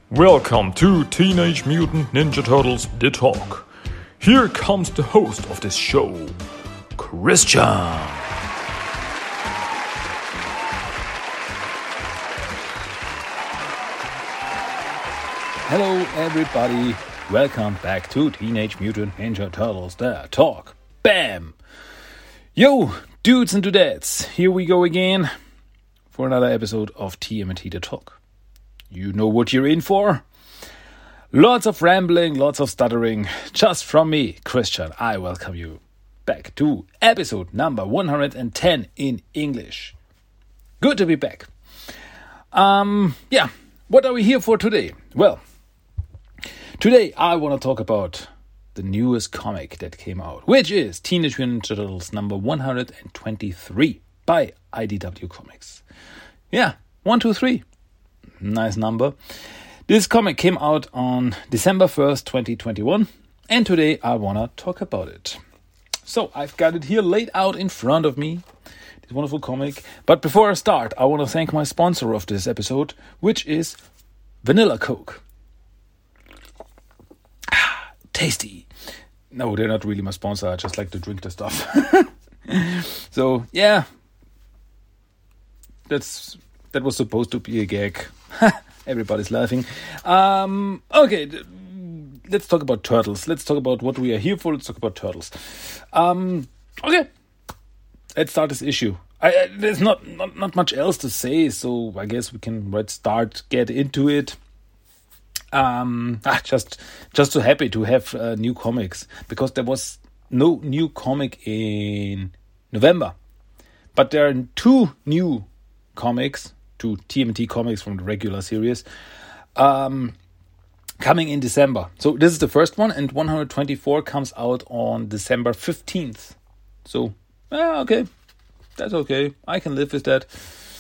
Welcome to Teenage Mutant Ninja Turtles The Talk. Here comes the host of this show, Christian. Hello everybody, welcome back to Teenage Mutant Ninja Turtles The Talk. Bam! Yo, dudes and dudettes, here we go again for another episode of TMNT The Talk. You know what you're in for? Lots of rambling, lots of stuttering, just from me, Christian. I welcome you back to episode number 110 in English. Good to be back. What are we here for today? Well, today I want to talk about the newest comic that came out, which is Teenage Mutant Ninja Turtles number 123 by IDW Comics. Yeah, 123. Nice number. This comic came out on December 1st, 2021, and today I want to talk about it. So I've got it here laid out in front of me, this wonderful comic. But before I start, I want to thank my sponsor of this episode, which is Vanilla Coke. Tasty. No, they're not really my sponsor. I just like to drink the stuff. So, yeah. That was supposed to be a gag. Everybody's laughing. Okay, let's talk about turtles. Let's talk about what we are here for. Let's talk about turtles. Okay, let's start this issue. There's not much else to say, so I guess we can get into it. Just so happy to have new comics, because there was no new comic in November, but there are two new comics, two TMNT comics from the regular series, coming in December. So this is the first one, and 124 comes out on December 15th. So, okay, that's okay. I can live with that.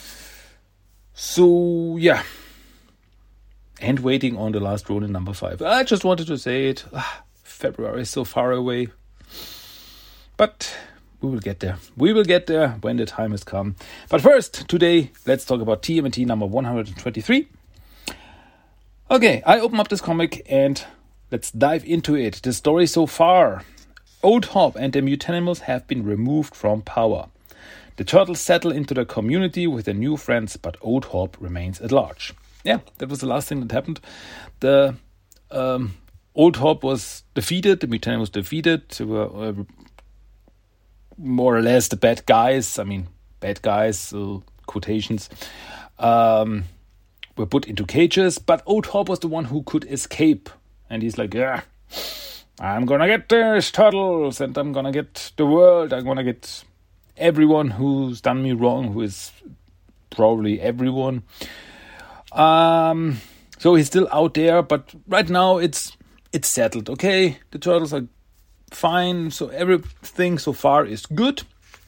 So, yeah. And waiting on the last Ronin number 5. I just wanted to say it. February is so far away. But we will get there. We will get there when the time has come. But first, today, let's talk about TMNT number 123. Okay, I open up this comic and let's dive into it. The story so far. Old Hob and the Mutanimals have been removed from power. The turtles settle into the community with their new friends, but Old Hob remains at large. Yeah, that was the last thing that happened. The Old Hob was defeated. The Mutanimals was defeated. They were more or less the bad guys. I mean, bad guys, quotations, were put into cages. But Old Hob was the one who could escape. And he's like, yeah, I'm going to get these turtles. And I'm going to get the world. I'm going to get everyone who's done me wrong, who is probably everyone. So he's still out there, but right now it's settled. Okay, the turtles are fine, so everything so far is good.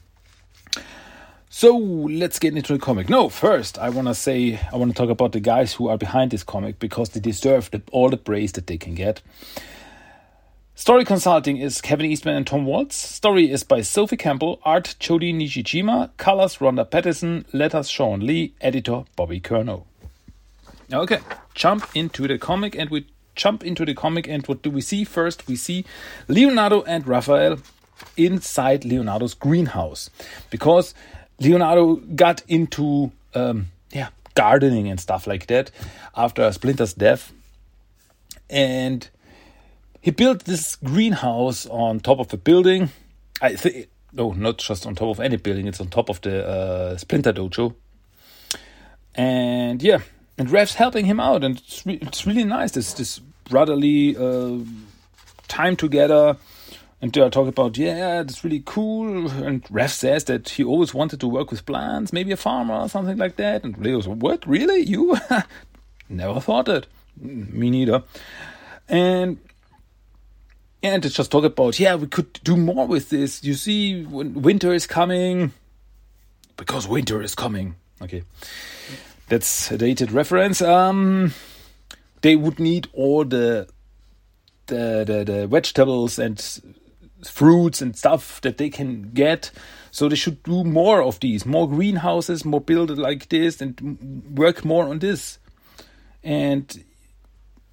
So let's get into the comic. No, first I want to talk about the guys who are behind this comic, because they deserve all the praise that they can get. Story consulting is Kevin Eastman and Tom Waltz. Story is by Sophie Campbell. Art Jody Nishijima. Colors Rhonda Patterson. Letters Sean Lee. Editor Bobby Curnow. Okay, jump into the comic, and what do we see first? We see Leonardo and Raphael inside Leonardo's greenhouse, because Leonardo got into gardening and stuff like that after Splinter's death, and he built this greenhouse on top of a building. Not just on top of any building, it's on top of the Splinter Dojo. And yeah, and Raph's helping him out, and it's really nice, this brotherly time together. And they are talking about, it's really cool. And Raph says that he always wanted to work with plants, maybe a farmer or something like that. And Leo's, what, really? You? Never thought it. Me neither. And they just talk about, we could do more with this. You see, when winter is coming, because winter is coming. Okay. That's a dated reference. They would need all the vegetables and fruits and stuff that they can get. So they should do more of these, more greenhouses, more build it like this, and work more on this. And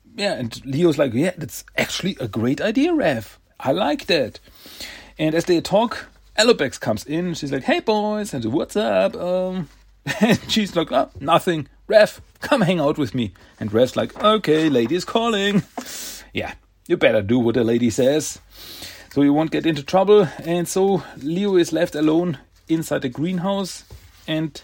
and Leo's like, yeah, that's actually a great idea, Rev. I like that. And as they talk, Alopex comes in. She's like, hey, boys. And what's up? And she's like, oh, nothing. Rev, come hang out with me. And Rev's like, okay, lady is calling. Yeah, you better do what the lady says, so you won't get into trouble. And so Leo is left alone inside the greenhouse. And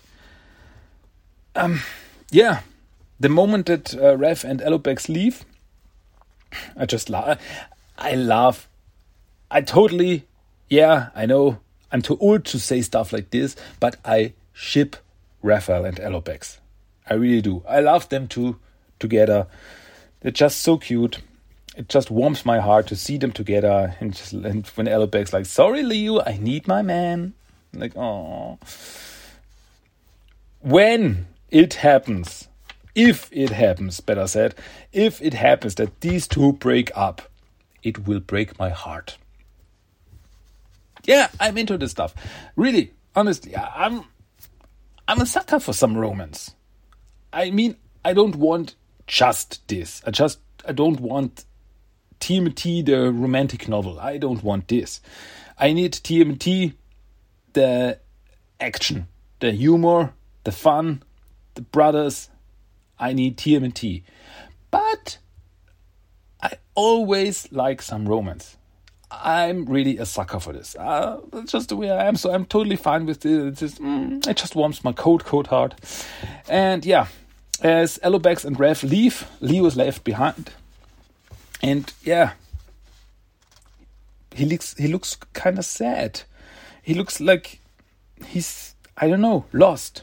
the moment that Rev and Alopex leave, I just laugh. I laugh. I know I'm too old to say stuff like this, but I ship Raphael and Alopex. I really do. I love them two together. They're just so cute. It just warms my heart to see them together. And when Alopex like, sorry, Leo, I need my man. I'm like, oh. When it happens, if it happens that these two break up, it will break my heart. Yeah, I'm into this stuff. Really, honestly, I'm a sucker for some romance. I mean, I don't want just this. I don't want TMT, the romantic novel. I don't want this. I need TMT, the action, the humor, the fun, the brothers. I need TMT. But I always like some romance. I'm really a sucker for this. That's just the way I am. So I'm totally fine with this. It just warms my cold heart. And yeah, as Alopex and Rev leave, Leo is left behind. And yeah, he looks kind of sad. He looks like he's, I don't know, lost.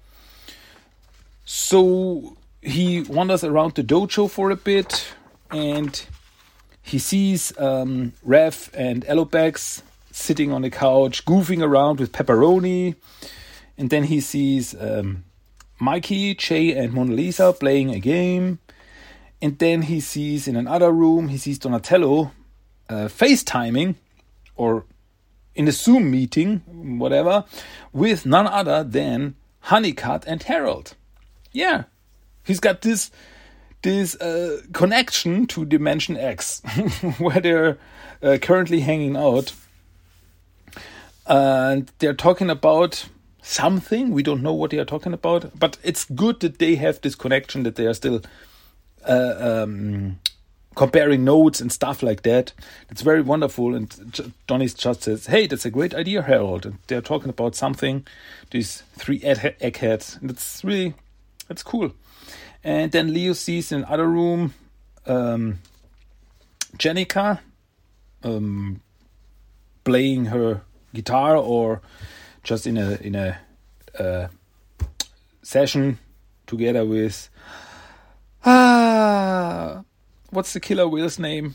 So he wanders around the dojo for a bit, and he sees Rev and Alopex sitting on the couch, goofing around with Pepperoni. And then he sees Mikey, Jay, and Mona Lisa playing a game. And then he sees in another room, he sees Donatello FaceTiming, or in a Zoom meeting, whatever, with none other than Honeycutt and Harold. Yeah, he's got this connection to Dimension X, where they're currently hanging out. And they're talking about something. We don't know what they are talking about, but it's good that they have this connection, that they are still comparing notes and stuff like that. It's very wonderful. And Donnie just says, hey, that's a great idea, Harold. And they're talking about something, these three eggheads. And it's cool. And then Leo sees in another room Jennica playing her guitar, or just in a session together with what's the killer whale's name?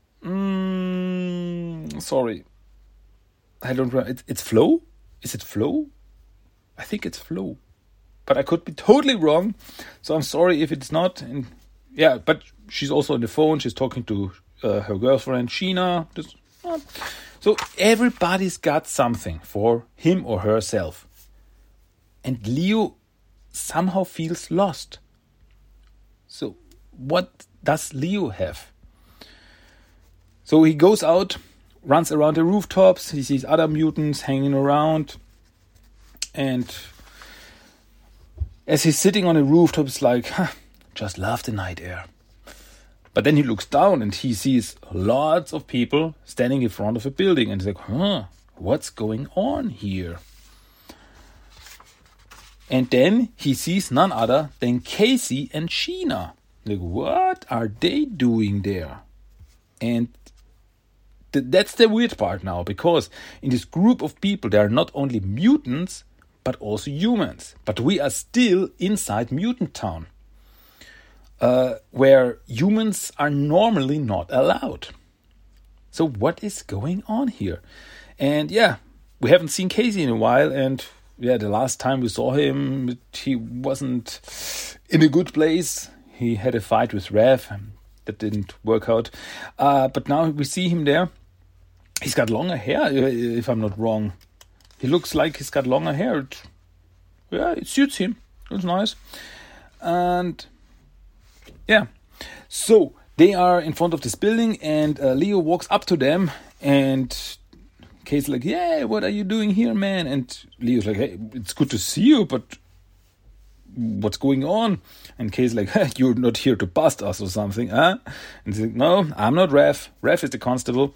Sorry, I don't remember. It's Flo. Is it Flo? I think it's Flo, but I could be totally wrong. So I'm sorry if it's not. And yeah, but she's also on the phone. She's talking to her girlfriend Sheena. So everybody's got something for him or herself. And Leo somehow feels lost. So what does Leo have? So he goes out, runs around the rooftops. He sees other mutants hanging around. And as he's sitting on the rooftop, it's like, just love the night air. But then he looks down and he sees lots of people standing in front of a building. And he's like, what's going on here? And then he sees none other than Casey and Sheena. Like, what are they doing there? And that's the weird part now, because in this group of people, there are not only mutants, but also humans. But we are still inside Mutant Town, where humans are normally not allowed. So what is going on here? And yeah, we haven't seen Casey in a while, and yeah, the last time we saw him, he wasn't in a good place. He had a fight with Rev that didn't work out. But now we see him there. He's got longer hair, if I'm not wrong. He looks like he's got longer hair. It suits him. It's nice. And yeah, So they are in front of this building, and Leo walks up to them, and Casey's like, "Yeah, what are you doing here, man?" And Leo's like, "Hey, it's good to see you, but what's going on?" And Casey's like, "Hey, you're not here to bust us or something, huh?" And he's like, "No, I'm not Ref. Ref is the constable."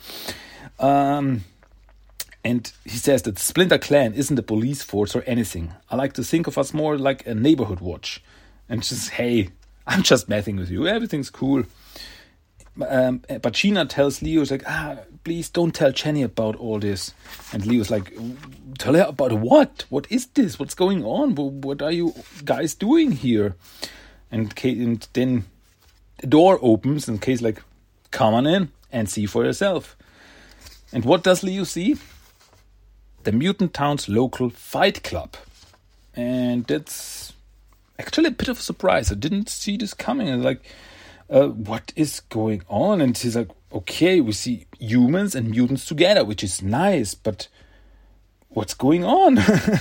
And he says that Splinter Clan isn't a police force or anything. I like to think of us more like a neighborhood watch. And just, hey, I'm just messing with you. Everything's cool. But Sheena tells Leo, like, please don't tell Jenny about all this. And Leo's like, tell her about what? What is this? What's going on? What are you guys doing here? And then the door opens, and Kay's like, come on in and see for yourself. And what does Leo see? The Mutant Town's local fight club. And that's actually a bit of a surprise. I didn't see this coming. I was like, what is going on? And he's like, okay, we see humans and mutants together, which is nice, but what's going on?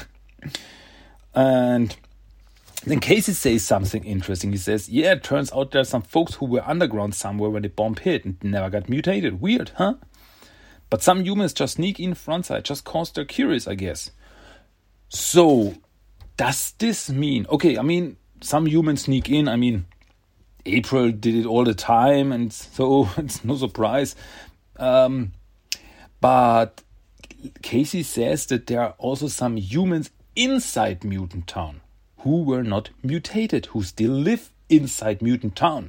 And then Casey says something interesting. He says, yeah, it turns out there's some folks who were underground somewhere when the bomb hit and never got mutated. Weird, huh? But some humans just sneak in frontside, just cause they're curious, I guess. So, does this mean... Okay, I mean, some humans sneak in. I mean, April did it all the time, and so it's no surprise. But Casey says that there are also some humans inside Mutant Town who were not mutated, who still live inside Mutant Town.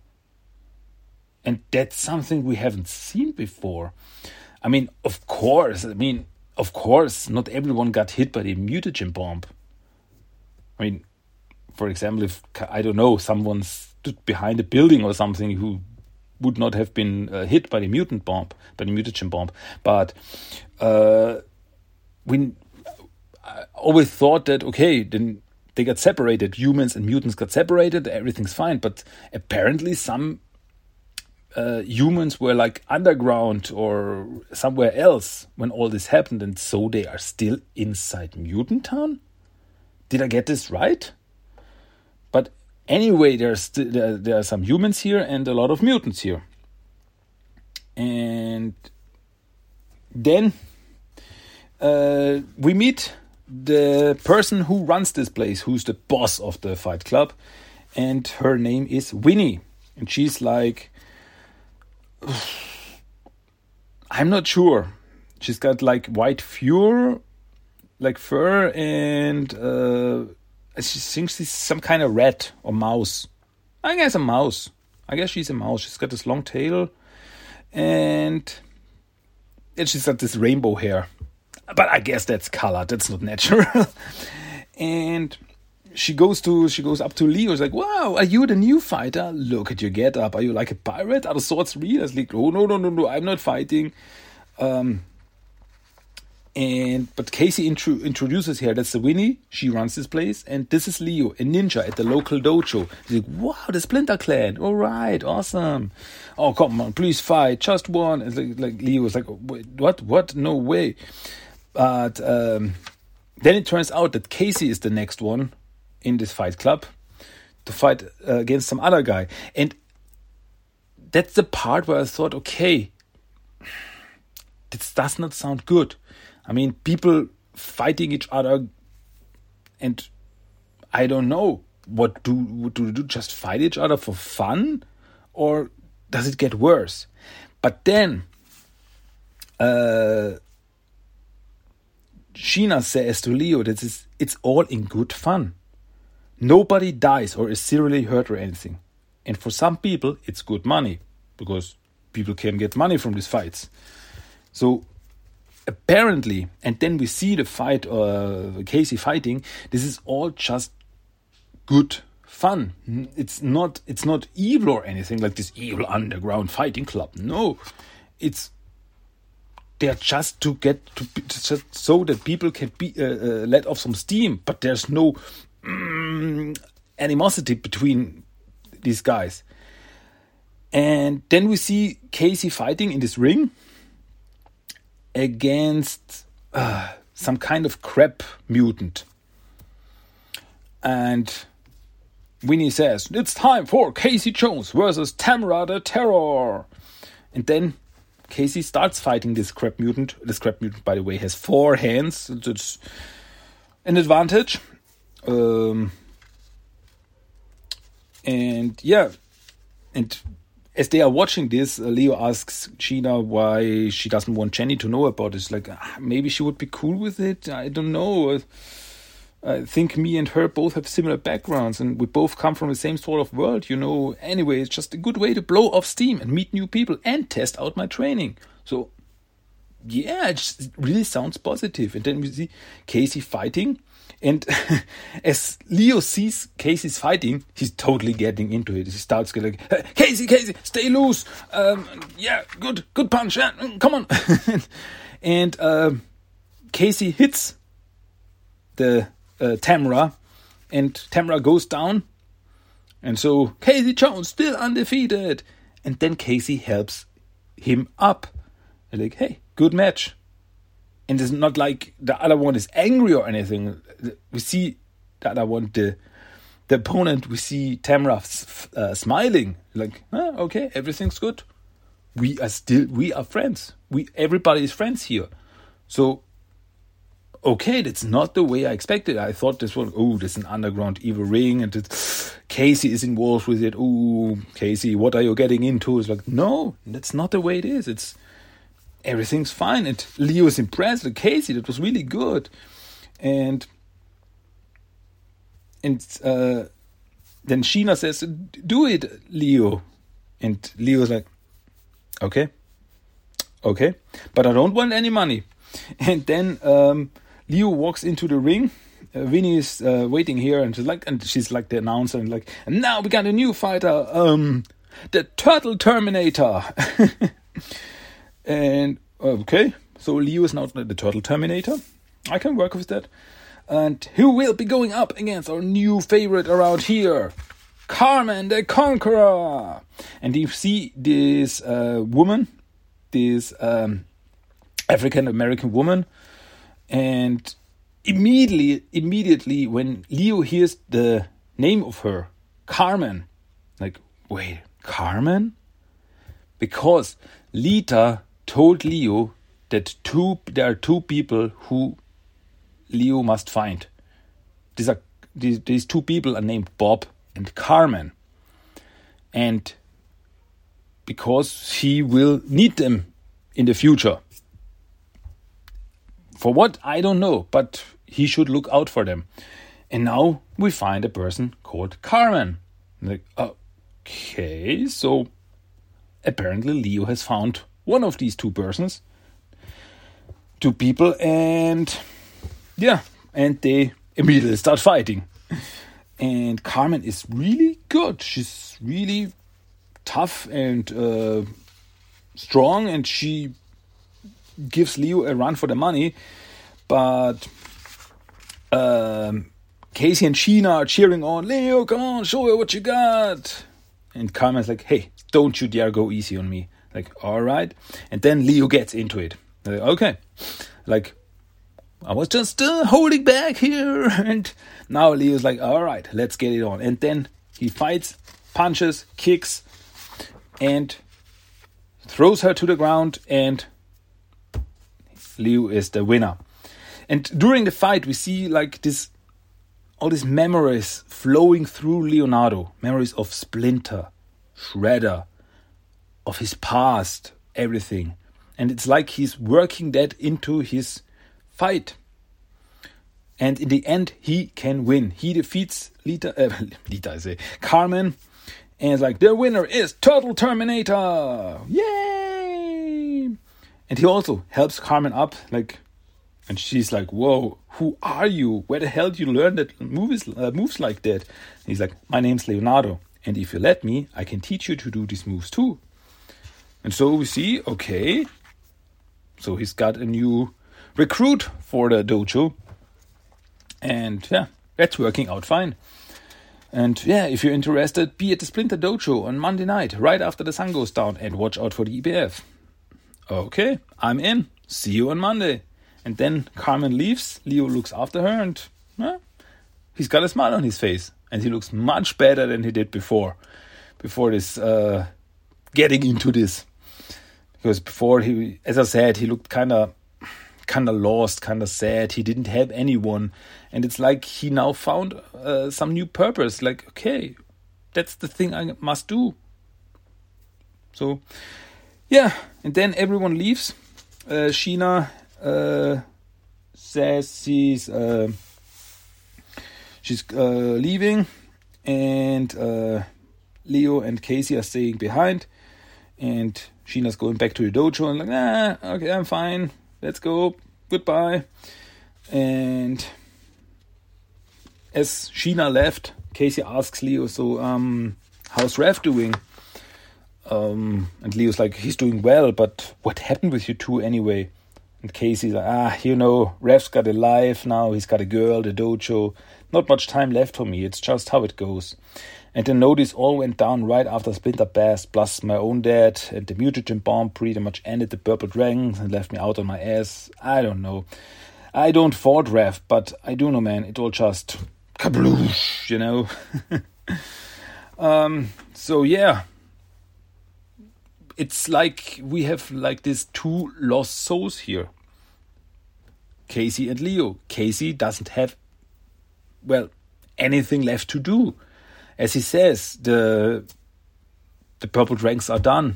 And that's something we haven't seen before. I mean, of course, not everyone got hit by the mutagen bomb. I mean, for example, if, I don't know, someone stood behind a building or something who would not have been hit by the mutagen bomb. But I always thought that, okay, then they got separated. Humans and mutants got separated. Everything's fine. But apparently some humans were like underground or somewhere else when all this happened, and so they are still inside Mutant Town? Did I get this right? But anyway, there are some humans here and a lot of mutants here. And then we meet the person who runs this place, who's the boss of the fight club, and her name is Winnie. And she's like, I'm not sure. She's got like white fur, and she thinks she's some kind of rat or mouse. I guess a mouse. I guess she's a mouse. She's got this long tail, and she's got this rainbow hair. But I guess that's colored. That's not natural. And she goes up to Leo. She's like, wow, are you the new fighter? Look at your getup. Are you like a pirate? Are the swords real? I was like, oh, no, I'm not fighting. But Casey introduces her. That's the Winnie. She runs this place. And this is Leo, a ninja at the local dojo. He's like, wow, the Splinter Clan. All right, awesome. Oh, come on, please fight. Just one. And like Leo was like, what? No way. But then it turns out that Casey is the next one in this fight club to fight against some other guy. And that's the part where I thought, okay, this does not sound good. I mean, people fighting each other, and I don't know, what do do? Just fight each other for fun? Or does it get worse? But then Sheena says to Leo that it's all in good fun. Nobody dies or is seriously hurt or anything. And for some people, it's good money, because people can get money from these fights. So apparently, and then we see the fight, Casey fighting, this is all just good fun. It's not evil or anything, like this evil underground fighting club. No, they're just just so that people can be let off some steam, but there's no animosity between these guys. And then we see Casey fighting in this ring against some kind of crab mutant. And Winnie says, it's time for Casey Jones versus Tamara the Terror. And then Casey starts fighting this crab mutant. This crab mutant, by the way, has 4 hands. It's an advantage. And as they are watching this, Leo asks Sheena why she doesn't want Jenny to know about it. It's like, maybe she would be cool with it. I don't know. I think me and her both have similar backgrounds and we both come from the same sort of world, Anyway, it's just a good way to blow off steam and meet new people and test out my training. So, yeah, it really sounds positive. And then we see Casey fighting. And as Leo sees Casey's fighting, he's totally getting into it. He starts getting like, Casey, stay loose. Good punch. Come on. And Casey hits the Tamara, and Tamara goes down. And so Casey Jones still undefeated. And then Casey helps him up. They're like, hey, good match. And it's not like the other one is angry or anything. We see the other one, the opponent, we see Tamara smiling. Like, okay, everything's good. We are friends. Everybody is friends here. So, okay, that's not the way I expected. I thought this was, there's an underground evil ring and Casey is involved with it. Casey, what are you getting into? It's like, no, that's not the way it is. It's everything's fine. And Leo is impressed with Casey. That was really good. And then Sheena says, do it, Leo. And Leo's like, okay, but I don't want any money. And then Leo walks into the ring. Winnie is waiting here, and she's like the announcer, and now we got a new fighter, the Turtle Terminator. And okay, so Leo is now the Turtle Terminator. I can work with that. And who will be going up against our new favorite around here, Carmen the Conqueror. And you see this woman, this African American woman, and immediately when Leo hears the name of her, Carmen, like, wait, Carmen? Because Lita told Leo that there are 2 people who Leo must find. These 2 people are named Bob and Carmen. And because he will need them in the future. For what? I don't know, but he should look out for them. And now we find a person called Carmen. Like, okay, so apparently Leo has found one of these 2 persons, 2 people, and they immediately start fighting. And Carmen is really good. She's really tough and strong, and she gives Leo a run for the money. But Casey and Sheena are cheering on, Leo, come on, show her what you got. And Carmen's like, hey, don't you dare go easy on me. Like, all right. And then Leo gets into it. Like, okay. Like, I was just holding back here. And now Leo's like, all right, let's get it on. And then he fights, punches, kicks, and throws her to the ground. And Leo is the winner. And during the fight, we see like all these memories flowing through Leonardo. Memories of Splinter, Shredder, of his past, everything. And it's like he's working that into his fight. And in the end, he can win. He defeats Carmen. And it's like, the winner is Turtle Terminator. Yay! And he also helps Carmen up, like, and she's like, whoa, who are you? Where the hell did you learn that moves like that? And he's like, my name's Leonardo. And if you let me, I can teach you to do these moves too. And so we see, okay, so he's got a new recruit for the dojo. And yeah, that's working out fine. And yeah, if you're interested, be at the Splinter Dojo on Monday night, right after the sun goes down, and watch out for the EBF. Okay, I'm in. See you on Monday. And then Carmen leaves. Leo looks after her, and he's got a smile on his face. And he looks much better than he did before this, getting into this. Because before, he, as I said, he looked kind of lost, kind of sad. He didn't have anyone. And it's like he now found some new purpose. Like, okay, that's the thing I must do. So, yeah. And then everyone leaves. Sheena says she's leaving. And Leo and Casey are staying behind. And Sheena's going back to the dojo and like, okay, I'm fine. Let's go. Goodbye. And as Sheena left, Casey asks Leo, so, how's Rev doing? And Leo's like, he's doing well, but what happened with you two anyway? And Casey's like, Rev's got a life now. He's got a girl, the dojo. Not much time left for me. It's just how it goes. And the notice all went down right after Splinter Bass, plus my own dad, and the mutagen bomb pretty much ended the Purple Dragons and left me out on my ass. I don't know. I don't fault Rev, but I do know, man, it all just kabloosh, you know. So yeah, it's like we have like these two lost souls here, Casey and Leo. Casey doesn't have, well, anything left to do. As he says, the Purple Dragons are done.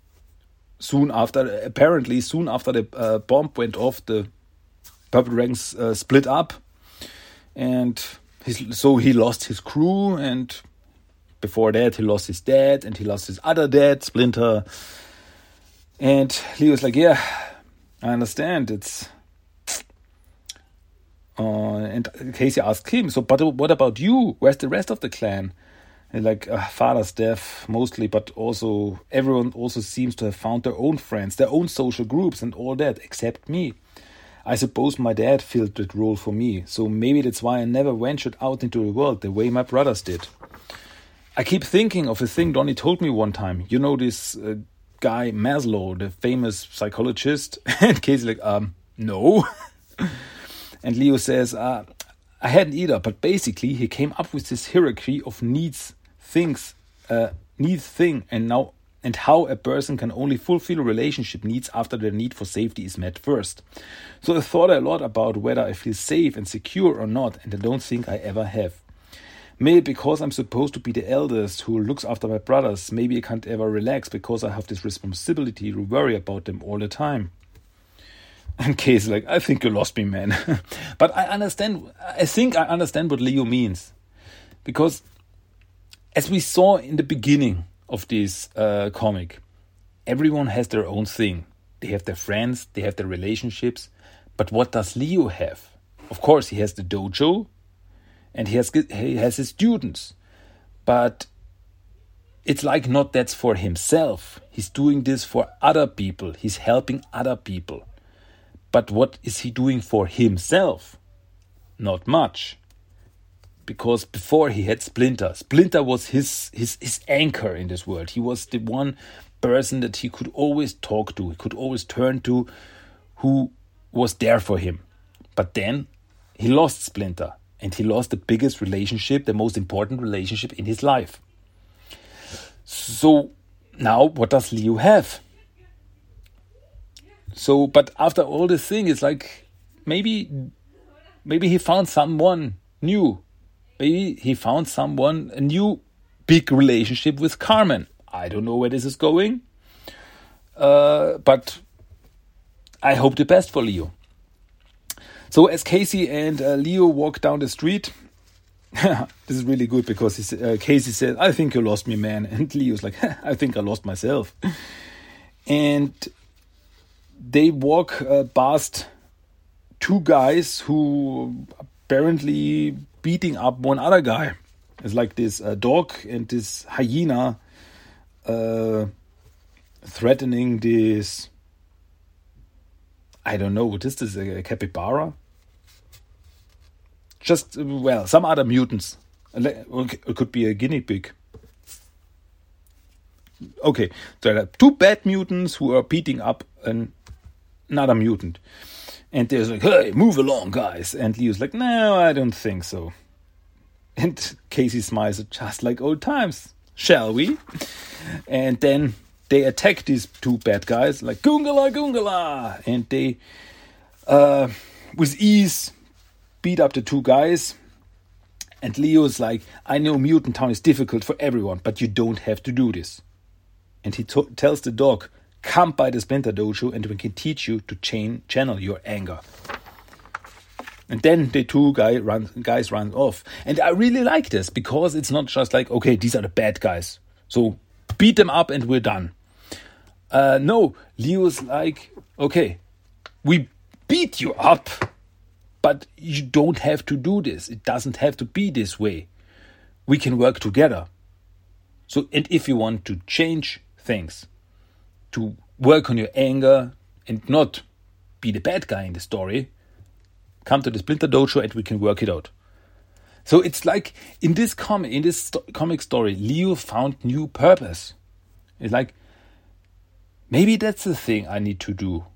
Apparently soon after the bomb went off, the Purple Dragons split up, and so he lost his crew, and before that he lost his dad, and he lost his other dad, Splinter. And Leo's like, yeah, I understand. It's and Casey asked him, so but what about you? Where's the rest of the clan? And like, father's death mostly, but also everyone also seems to have found their own friends, their own social groups and all that, except me. I suppose my dad filled that role for me, so maybe that's why I never ventured out into the world the way my brothers did. I keep thinking of a thing Donnie told me one time. You know this guy Maslow, the famous psychologist? And Casey's like, no. And Leo says, I hadn't either, but basically he came up with this hierarchy of needs thing, and how a person can only fulfill relationship needs after their need for safety is met first. So I thought a lot about whether I feel safe and secure or not, and I don't think I ever have. Maybe because I'm supposed to be the eldest who looks after my brothers, maybe I can't ever relax because I have this responsibility to worry about them all the time. And Casey's like, I think you lost me, man. But I think I understand what Leo means. Because as we saw in the beginning of this comic, everyone has their own thing. They have their friends, they have their relationships. But what does Leo have? Of course, he has the dojo and he has his students. But it's like not that's for himself. He's doing this for other people. He's helping other people. But what is he doing for himself? Not much. Because before he had Splinter. Splinter was his anchor in this world. He was the one person that he could always talk to. He could always turn to, who was there for him. But then he lost Splinter. And he lost the biggest relationship, the most important relationship in his life. So now what does Leo have? So, but after all this thing, it's like maybe he found someone new. Maybe he found a new big relationship with Carmen. I don't know where this is going. But I hope the best for Leo. So as Casey and Leo walk down the street, this is really good because Casey said, I think you lost me, man. And Leo's like, I think I lost myself. And they walk past two guys who apparently beating up one other guy. It's like this dog and this hyena threatening this, I don't know, what is this, a capybara? Just, well, some other mutants. It could be a guinea pig. Okay, there are two bad mutants who are beating up another mutant. And they're like, hey, move along, guys. And Leo's like, no, I don't think so. And Casey smiles, just like old times, shall we? And then they attack these two bad guys like Goongala, Goongala. And they, with ease, beat up the two guys. And Leo's like, I know Mutant Town is difficult for everyone, but you don't have to do this. And he tells the dog, come by the Splinter Dojo and we can teach you to channel your anger. And then the two guys run off. And I really like this because it's not just like, okay, these are the bad guys, so beat them up and we're done. No, Leo's like, okay, we beat you up, but you don't have to do this. It doesn't have to be this way. We can work together. So, and if you want to change things, to work on your anger and not be the bad guy in the story, come to the Splinter Dojo and we can work it out. So it's like in this comic story, Leo found new purpose. It's like, maybe that's the thing I need to do.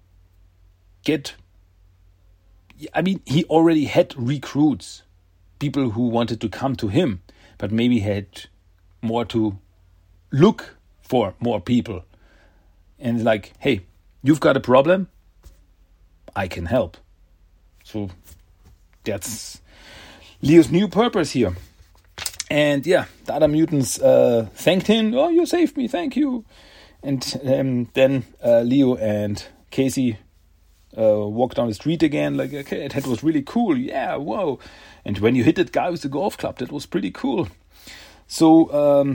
He already had recruits, people who wanted to come to him, but maybe he had more to look for more people. And like, hey, you've got a problem? I can help. So that's Leo's new purpose here. And yeah, the other mutants thanked him. Oh, you saved me, thank you. And then Leo and Casey walked down the street again. Like, okay, that was really cool. Yeah, whoa. And when you hit that guy with the golf club, that was pretty cool. So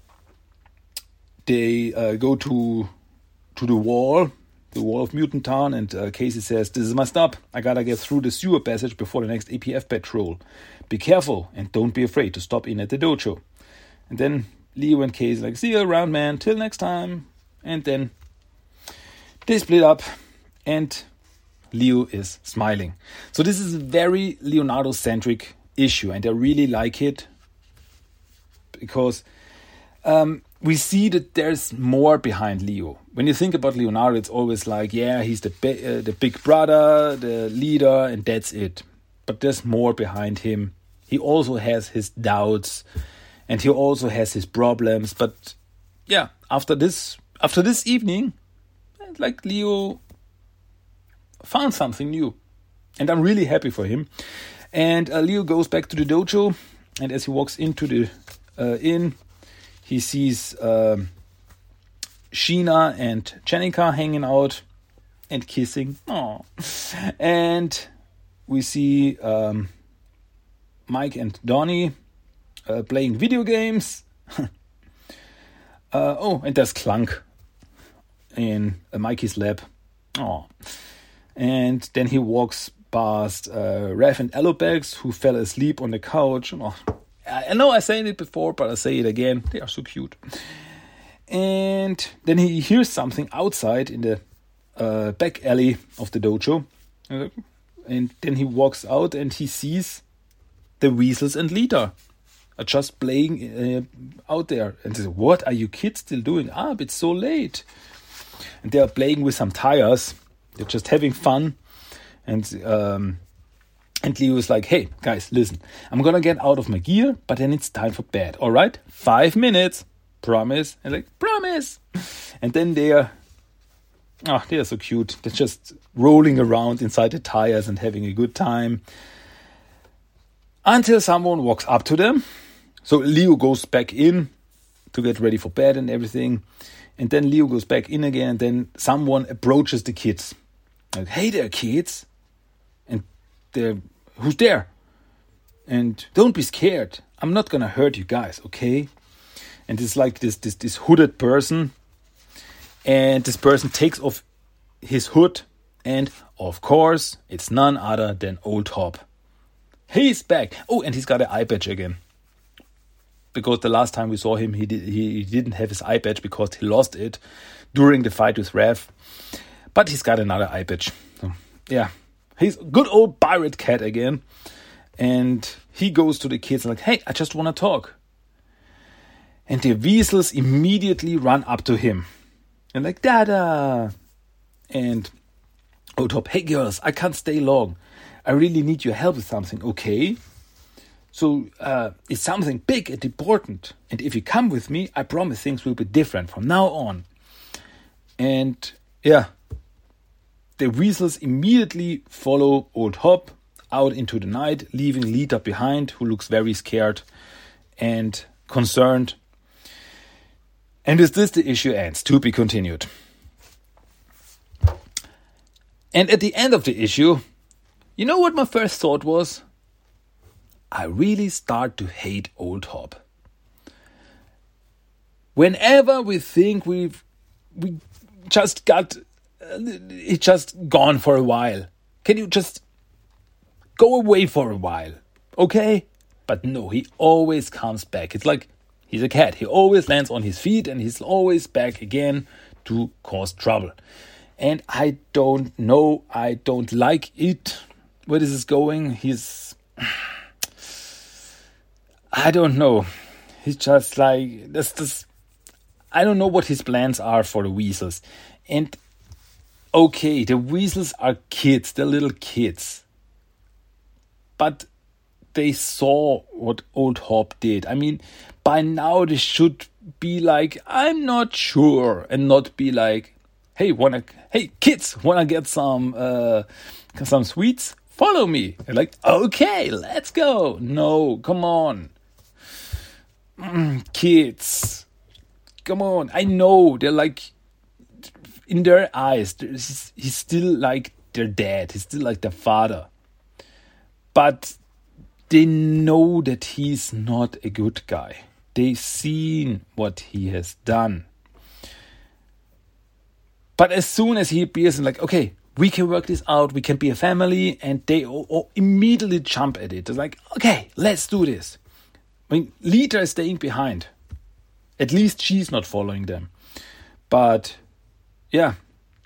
they go to the wall of Mutant Town, and Casey says, this is my stop. I gotta get through the sewer passage before the next APF patrol. Be careful and don't be afraid to stop in at the dojo. And then Leo and Casey like, see you around, man. Till next time. And then they split up and Leo is smiling. So this is a very Leonardo-centric issue, and I really like it because we see that there's more behind Leo. When you think about Leonardo, it's always like, yeah, he's the big brother, the leader, and that's it. But there's more behind him. He also has his doubts, and he also has his problems. But yeah, after this evening, like Leo found something new, and I'm really happy for him. And Leo goes back to the dojo, and as he walks into the inn, he sees Sheena and Jennika hanging out and kissing. Aww. And we see Mike and Donnie playing video games. And there's Clunk in Mikey's lab. Aww. And then he walks past Raph and Alopex, who fell asleep on the couch. Oh, I know I said it before, but I say it again. They are so cute. And then he hears something outside in the back alley of the dojo. And then he walks out and he sees the Weasels and Lita are just playing out there. And he says, what are you kids still doing up? It's so late. And they are playing with some tires. They're just having fun. And Leo is like, hey, guys, listen. I'm going to get out of my gear, but then it's time for bed. All right? 5 minutes. Promise. And like, promise. And then they are so cute. They're just rolling around inside the tires and having a good time. Until someone walks up to them. So Leo goes back in to get ready for bed and everything. And then Leo goes back in again. And then someone approaches the kids. Like, hey there, kids. And they're, who's there? And don't be scared. I'm not going to hurt you guys, okay? And it's like this hooded person. And this person takes off his hood. And, of course, it's none other than Old Hop. He's back. Oh, and he's got an eye patch again. Because the last time we saw him, he didn't have his eye patch because he lost it during the fight with Raph. But he's got another eye patch. So, yeah, he's good old pirate cat again. And he goes to the kids and like, hey, I just want to talk. And the Weasels immediately run up to him. And like, Dada. And Old Hop, hey girls, I can't stay long. I really need your help with something, okay? So it's something big and important. And if you come with me, I promise things will be different from now on. And yeah, the weasels immediately follow Old Hop out into the night, leaving Lita behind, who looks very scared and concerned. And with this, the issue ends. To be continued. And at the end of the issue, you know what my first thought was? I really start to hate Old Hop. Whenever we think we just got it just gone for a while, can you just go away for a while, okay? But no, he always comes back. It's like he's a cat. He always lands on his feet and he's always back again to cause trouble. And I don't know. I don't like it. Where this is going? I don't know. He's just like this. I don't know what his plans are for the weasels. And okay, the weasels are kids. They're little kids. But they saw what Old Hop did. I mean, by now they should be like, I'm not sure, and not be like, hey kids, wanna get some sweets? Follow me. They're like, okay, let's go. No, come on. Kids. Come on. I know they're like, in their eyes, he's still like their dad. He's still like their father. But they know that he's not a good guy. They've seen what he has done. But as soon as he appears and like, okay, we can work this out, we can be a family, and they all immediately jump at it. They're like, okay, let's do this. I mean, Lita is staying behind. At least she's not following them. But, yeah,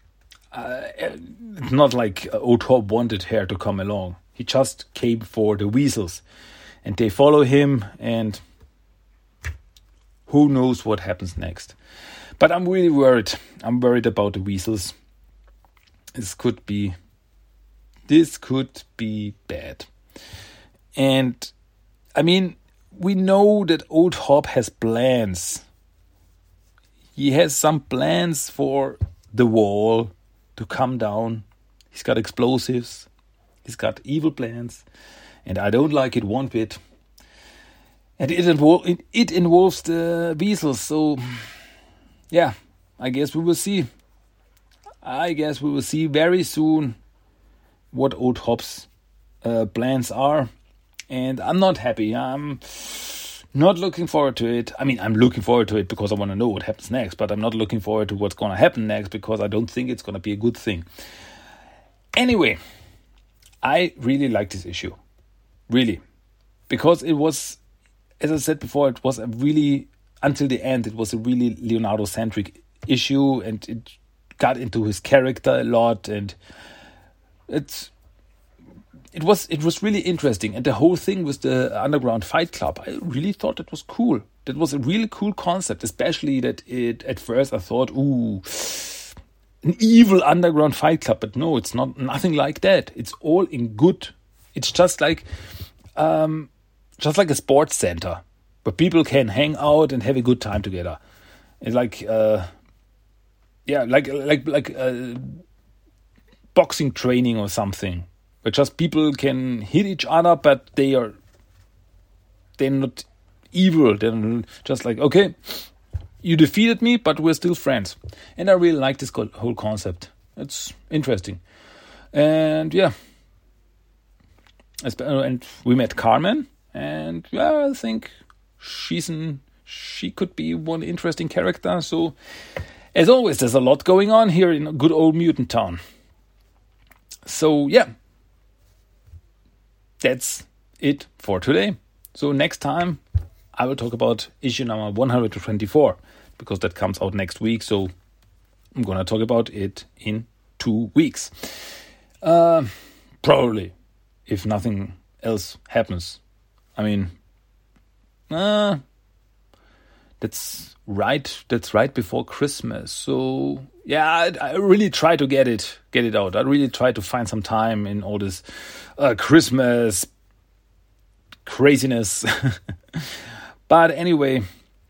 it's not like Old Hop wanted her to come along. He just came for the weasels. And they follow him, and who knows what happens next. But I'm really worried. I'm worried about the weasels. This could be bad. And I mean, we know that Old Hop has plans. He has some plans for the wall to come down. He's got explosives. He's got evil plans. And I don't like it one bit. And it involves the weasels. So, yeah, I guess we will see. I guess we will see very soon what Old Hop's plans are. And I'm not happy. I'm not looking forward to it. I mean, I'm looking forward to it because I want to know what happens next. But I'm not looking forward to what's going to happen next because I don't think it's going to be a good thing. Anyway, I really like this issue. Really. Because it was, as I said before, it was a really, until the end, it was a really Leonardo-centric issue. And it got into his character a lot. And it was really interesting. And the whole thing with the Underground Fight Club, I really thought it was cool. That was a really cool concept, especially that at first I thought, ooh, an evil underground fight club. But no, it's nothing like that. It's all in good. It's just like a sports center where people can hang out and have a good time together. It's like, like boxing training or something. But just people can hit each other, but they're not evil. They're just like, okay, you defeated me, but we're still friends. And I really like this whole concept. It's interesting. And yeah. And we met Carmen. And yeah, I think she could be one interesting character. So, as always, there's a lot going on here in good old Mutant Town. So, yeah. That's it for today. So next time I will talk about issue number 124 because that comes out next week. So I'm going to talk about it in 2 weeks. Probably, if nothing else happens. I mean, that's right before Christmas. So yeah, I really try to get it out. I really try to find some time in all this Christmas craziness. But anyway,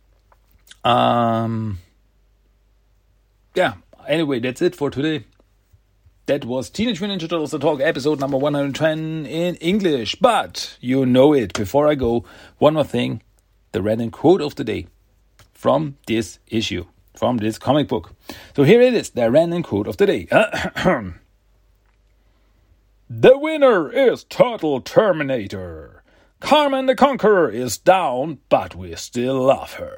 anyway, that's it for today. That was Teenage Mutant Ninja Turtles The Talk, episode number 110 in English. But you know it. Before I go, one more thing. The random quote of the day from this issue, from this comic book. So here it is, the random quote of the day. The winner is Turtle Terminator. Carmen the Conqueror is down, but we still love her.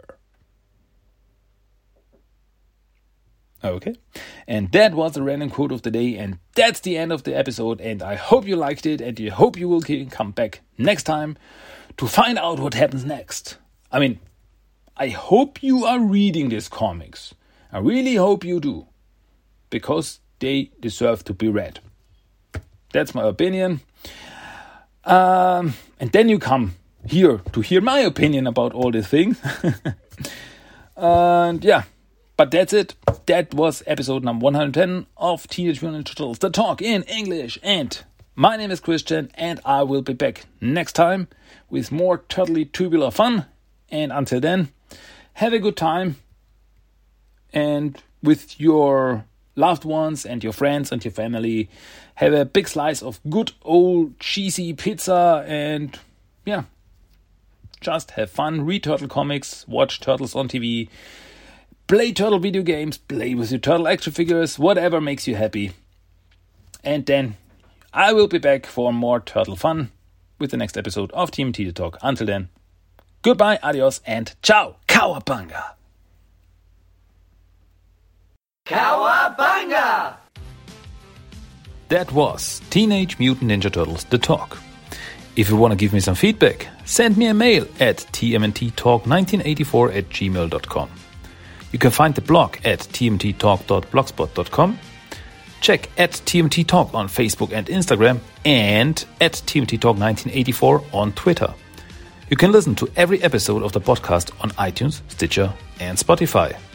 Okay, and that was the random quote of the day, and that's the end of the episode, and I hope you liked it, and I hope you will come back next time to find out what happens next. I mean, I hope you are reading these comics. I really hope you do, because they deserve to be read. That's my opinion. And then you come here to hear my opinion about all these things. And yeah. But that's it. That was episode number 110 of Teenage Mutant Ninja Turtles The Talk in English. And my name is Christian, and I will be back next time with more turtly tubular fun. And until then, have a good time. And with your loved ones and your friends and your family, have a big slice of good old cheesy pizza. And yeah, just have fun. Read turtle comics, watch turtles on TV. Play turtle video games, play with your turtle action figures, whatever makes you happy. And then I will be back for more turtle fun with the next episode of TMT The Talk. Until then, goodbye, adios, and ciao. Cowabunga! Cowabunga! That was Teenage Mutant Ninja Turtles The Talk. If you want to give me some feedback, send me a mail at tmnttalk1984@gmail.com. You can find the blog at tmttalk.blogspot.com. Check at TMT Talk on Facebook and Instagram, and at TMT Talk 1984 on Twitter. You can listen to every episode of the podcast on iTunes, Stitcher, and Spotify.